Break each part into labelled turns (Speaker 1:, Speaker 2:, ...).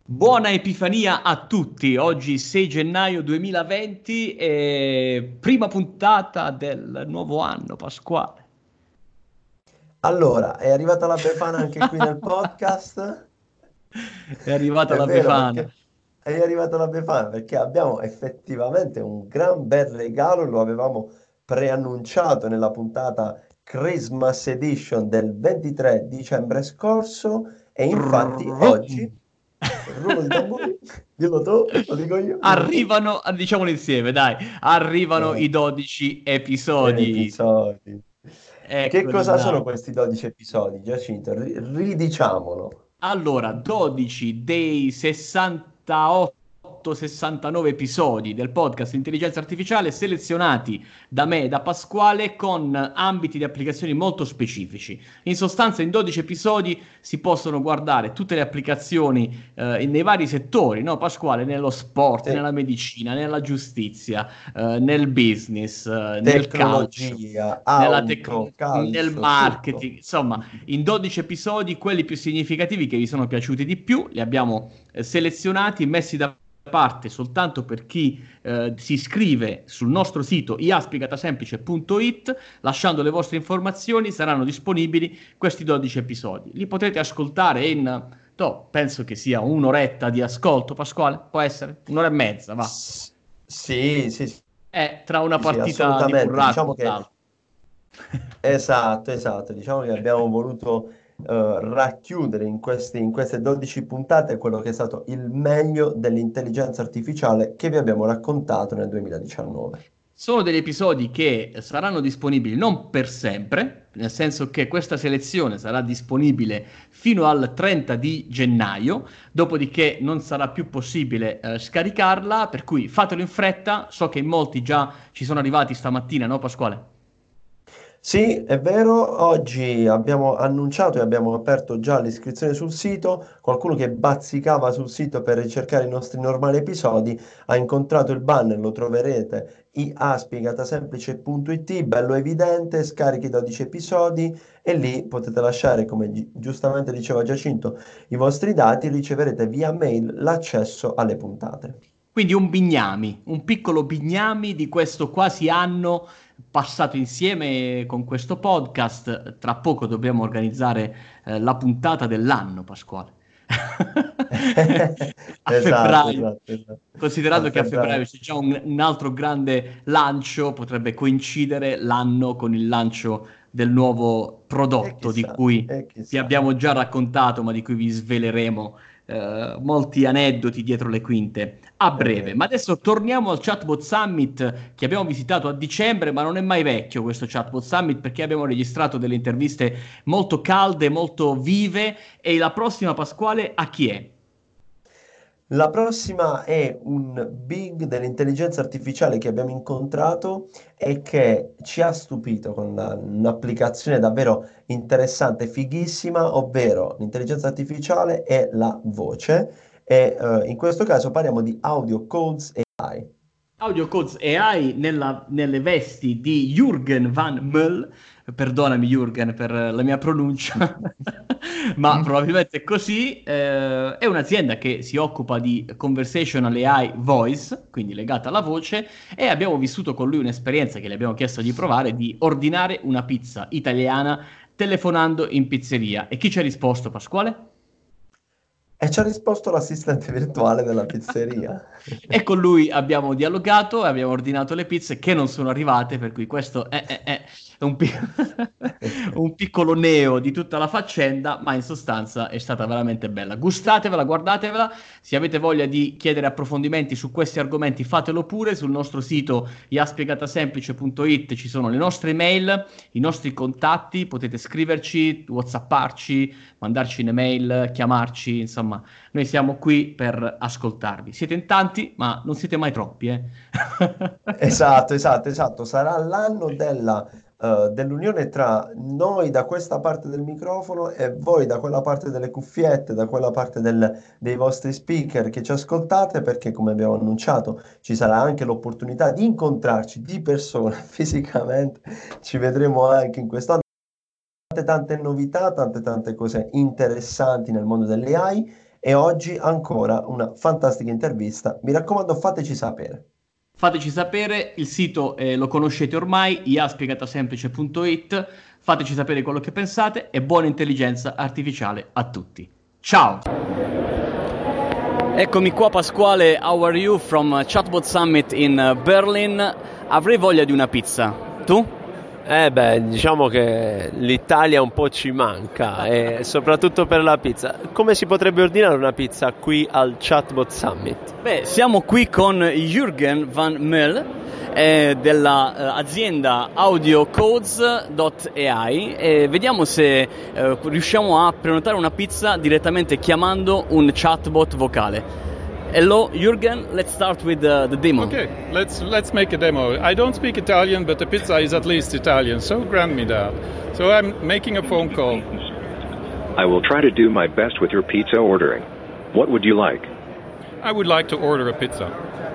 Speaker 1: Buona Epifania a tutti, oggi 6 gennaio 2020 e prima puntata del nuovo anno pasquale.
Speaker 2: Allora, è arrivata la Befana anche qui nel podcast?
Speaker 1: È arrivata
Speaker 2: È
Speaker 1: la
Speaker 2: vero
Speaker 1: Befana.
Speaker 2: perché è arrivata la Befana perché abbiamo effettivamente un gran bel regalo, lo avevamo preannunciato nella puntata Christmas Edition del 23 dicembre scorso e infatti oggi, rullo di tamburi, dillo tu, lo dico io, dillo tu.
Speaker 1: Arrivano, diciamolo insieme, dai, arrivano
Speaker 2: Dai,
Speaker 1: i 12 episodi.
Speaker 2: episodi. Che
Speaker 1: Eccoli
Speaker 2: cosa sono
Speaker 1: là.
Speaker 2: questi 12 episodi, Giacinto? Ridiciamolo.
Speaker 1: Allora, 12 dei 68-69 episodi del podcast Intelligenza Artificiale selezionati da me e da Pasquale con ambiti di applicazioni molto specifici. In sostanza, in 12 episodi si possono guardare tutte le applicazioni nei vari settori, no, Pasquale? Nello sport,
Speaker 2: Sì.
Speaker 1: nella medicina, nella giustizia, nel business, nel calcio.
Speaker 2: Tecnologia,
Speaker 1: Nella
Speaker 2: auto,
Speaker 1: nel
Speaker 2: calcio, tutto.
Speaker 1: marketing, insomma, in 12 episodi, quelli più significativi che vi sono piaciuti di più, li abbiamo selezionati, messi da parte soltanto per chi si iscrive sul nostro sito iaspiegatasemplice.it, lasciando le vostre informazioni, saranno disponibili questi 12 episodi. Li potrete ascoltare in, penso che sia un'oretta di ascolto, Pasquale, può essere? Un'ora e mezza, va.
Speaker 2: S- Sì, sì, sì,
Speaker 1: Tra una
Speaker 2: sì,
Speaker 1: partita di
Speaker 2: assolutamente.
Speaker 1: burraco
Speaker 2: Diciamo
Speaker 1: e
Speaker 2: che
Speaker 1: l'altra.
Speaker 2: esatto, esatto. Diciamo che abbiamo voluto racchiudere in queste 12 puntate quello che è stato il meglio dell'intelligenza artificiale che vi abbiamo raccontato nel 2019.
Speaker 1: Sono degli episodi che saranno disponibili non per sempre, nel senso che questa selezione sarà disponibile fino al 30 di gennaio, dopodiché non sarà più possibile scaricarla, per cui fatelo in fretta, so che in molti già ci sono arrivati stamattina, no Pasquale?
Speaker 2: Sì, è vero, oggi abbiamo annunciato e abbiamo aperto già l'iscrizione sul sito. Qualcuno che bazzicava sul sito per ricercare i nostri normali episodi ha incontrato il banner, lo troverete iaspiegatasemplice.it, bello evidente, scarichi 12 episodi e lì potete lasciare, come giustamente diceva Giacinto, i vostri dati e riceverete via mail l'accesso alle puntate.
Speaker 1: Quindi un bignami, un piccolo bignami di questo quasi anno passato insieme con questo podcast. Tra poco dobbiamo organizzare la puntata dell'anno, Pasquale. A
Speaker 2: Esatto,
Speaker 1: febbraio.
Speaker 2: esatto, esatto. A
Speaker 1: Considerando che a febbraio
Speaker 2: febbraio.
Speaker 1: c'è già un altro grande lancio, potrebbe coincidere l'anno con il lancio del nuovo prodotto di cui
Speaker 2: E
Speaker 1: vi
Speaker 2: chissà.
Speaker 1: abbiamo già raccontato, ma di cui vi sveleremo molti aneddoti dietro le quinte a
Speaker 2: È
Speaker 1: breve.
Speaker 2: vero.
Speaker 1: Ma adesso torniamo al Chatbot Summit che abbiamo visitato a dicembre, ma non è mai vecchio questo Chatbot Summit perché abbiamo registrato delle interviste molto calde, molto vive. E la prossima, Pasquale, a chi è?
Speaker 2: La prossima è un big dell'intelligenza artificiale che abbiamo incontrato e che ci ha stupito con un'applicazione davvero interessante e fighissima, ovvero l'intelligenza artificiale e la voce. E in questo caso parliamo di Audio Codes AI.
Speaker 1: Audio Codes AI nelle vesti di Jürgen Van Møll, perdonami Jürgen per la mia pronuncia, ma probabilmente è così, è un'azienda che si occupa di conversational AI voice, quindi legata alla voce, e abbiamo vissuto con lui un'esperienza che le abbiamo chiesto di provare, di ordinare una pizza italiana telefonando in pizzeria. E chi ci ha risposto, Pasquale?
Speaker 2: E ci ha risposto l'assistente virtuale della pizzeria.
Speaker 1: E con lui abbiamo dialogato e abbiamo ordinato le pizze che non sono arrivate, per cui questo è un piccolo neo di tutta la faccenda, ma in sostanza è stata veramente bella. Gustatevela, guardatevela. Se avete voglia di chiedere approfondimenti su questi argomenti, fatelo pure. Sul nostro sito iaspiegatasemplice.it ci sono le nostre mail, i nostri contatti, potete scriverci, whatsapparci, mandarci un'email, chiamarci, insomma. Noi siamo qui per ascoltarvi. Siete in tanti, ma non siete mai troppi, eh?
Speaker 2: Esatto, esatto, esatto. Sarà l'anno dell'unione tra noi da questa parte del microfono e voi da quella parte delle cuffiette, da quella parte dei vostri speaker che ci ascoltate, perché come abbiamo annunciato ci sarà anche l'opportunità di incontrarci di persona fisicamente. Ci vedremo anche in quest'anno tante tante novità, tante tante cose interessanti nel mondo delle AI e oggi ancora una fantastica intervista. Mi raccomando, fateci sapere.
Speaker 1: Fateci sapere, il sito lo conoscete ormai, iaspiegatasemplice.it, fateci sapere quello che pensate e buona intelligenza artificiale a tutti. Ciao! Eccomi qua Pasquale, how are you from Chatbot Summit in Berlin? Avrei voglia di una pizza, tu?
Speaker 3: Diciamo che l'Italia un po' ci manca, e soprattutto per la pizza. Come si potrebbe ordinare una pizza qui al Chatbot Summit?
Speaker 1: Siamo qui con Jürgen van Mel dell'azienda audiocodes.ai e vediamo se riusciamo a prenotare una pizza direttamente chiamando un chatbot vocale. Hello, Jürgen. Let's start with the demo.
Speaker 4: Okay, let's make a demo. I don't speak Italian, but the pizza is at least Italian, so grant me that. So I'm making a phone call.
Speaker 5: I will try to do my best with your pizza ordering. What would you like?
Speaker 4: I would like to order a pizza.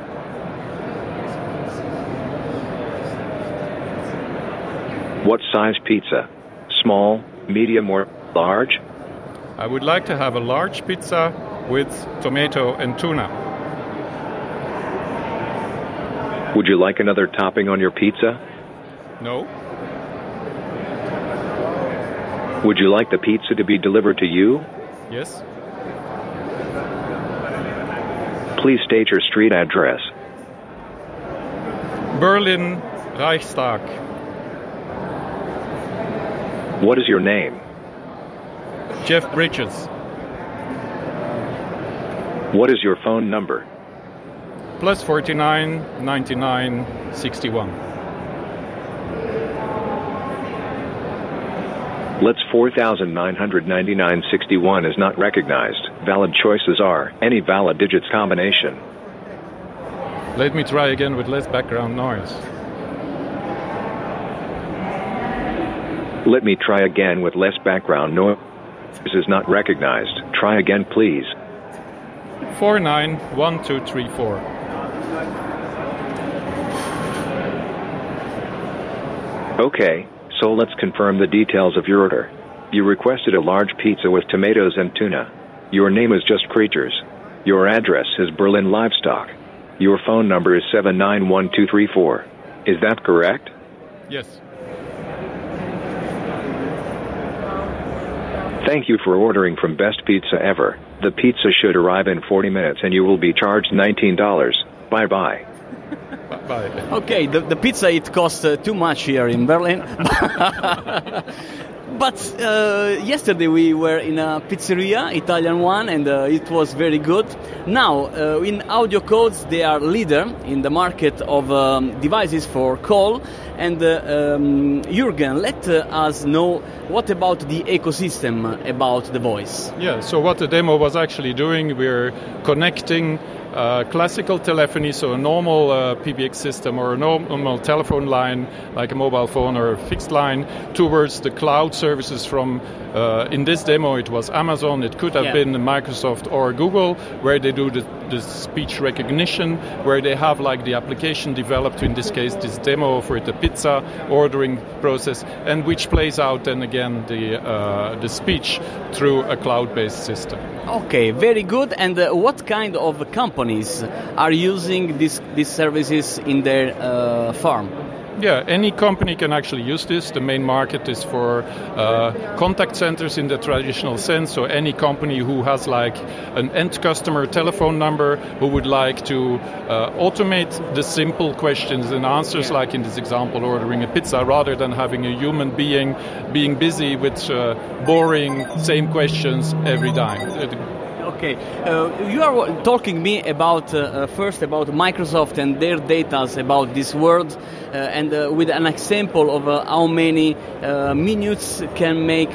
Speaker 5: What size pizza? Small, medium, or large?
Speaker 4: I would like to have a large pizza with tomato and tuna.
Speaker 5: Would you like another topping on your pizza?
Speaker 4: No?
Speaker 5: Would you like the pizza to be delivered to you?
Speaker 4: Yes?
Speaker 5: Please state your street address.
Speaker 4: Berlin, Reichstag.
Speaker 5: What is your name?
Speaker 4: Jeff Bridges.
Speaker 5: What is your phone number?
Speaker 4: Plus 49 99 61.
Speaker 5: Let's 4,999.61 is not recognized. Valid choices are any valid digits combination.
Speaker 4: Let me try again with less background noise.
Speaker 5: Let me try again with less background noise. This is not recognized. Try again, please.
Speaker 4: 491234.
Speaker 5: Okay, so let's confirm the details of your order. You requested a large pizza with tomatoes and tuna. Your name is Just Creatures. Your address is Berlin Livestock. Your phone number is 791234. Is that correct?
Speaker 4: Yes.
Speaker 5: Thank you for ordering from Best Pizza Ever. The pizza should arrive in 40 minutes and you will be charged $19. Bye-bye.
Speaker 4: Bye.
Speaker 1: Okay, the pizza, it costs too much here in Berlin. But yesterday we were in a pizzeria, Italian one, and it was very good. Now, in Audio Codes, they are leader in the market of devices for call. And Jürgen, let us know what about the ecosystem about the voice.
Speaker 4: Yeah, so what the demo was actually doing, we're connecting classical telephony, so a normal PBX system or a normal telephone line, like a mobile phone or a fixed line, towards the cloud services from, in this demo, it was Amazon, it could have been Microsoft or Google, where they do the speech recognition, where they have like the application developed, in this case, this demo for the pizza ordering process, and which plays out then again the speech through a cloud-based system.
Speaker 1: Okay, very good. And what kind of companies are using these services in their farm?
Speaker 4: Yeah, any company can actually use this. The main market is for contact centers in the traditional sense. So any company who has like an end customer telephone number who would like to automate the simple questions and answers, like in this example, ordering a pizza, rather than having a human being being busy with boring same questions every time.
Speaker 1: Okay, you are talking me about first about Microsoft and their data about this world, and with an example of how many minutes can make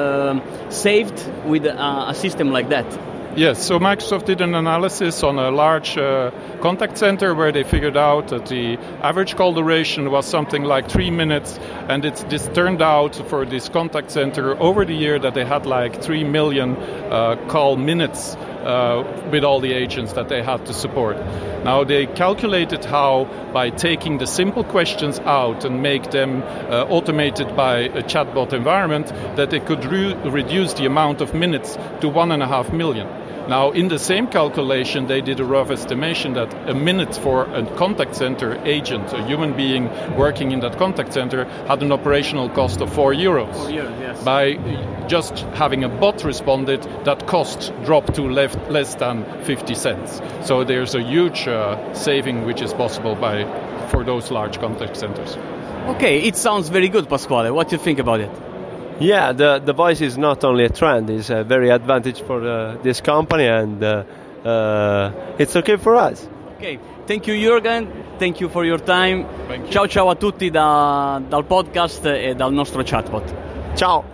Speaker 1: saved with a system like that.
Speaker 4: Yes, so Microsoft did an analysis on a large contact center where they figured out that the average call duration was something like 3 minutes, and this turned out for this contact center over the year that they had like 3 million call minutes with all the agents that they had to support. Now they calculated how, by taking the simple questions out and make them automated by a chatbot environment, that they could reduce the amount of minutes to 1.5 million. Now, in the same calculation, they did a rough estimation that a minute for a contact center agent, a human being working in that contact center, had an operational cost of €4.
Speaker 1: Yes.
Speaker 4: By just having a bot responded, that cost dropped to less than 50 cents. So there's a huge saving which is possible for those large contact centers.
Speaker 1: Okay, it sounds very good, Pasquale. What do you think about it?
Speaker 3: Yeah, the voice is not only a trend, it's a very advantage for this company, and it's okay for us.
Speaker 1: Ok, thank you Jürgen, thank you for your time.
Speaker 4: Thank you.
Speaker 1: Ciao ciao a tutti dal podcast e dal nostro chatbot.
Speaker 3: Ciao!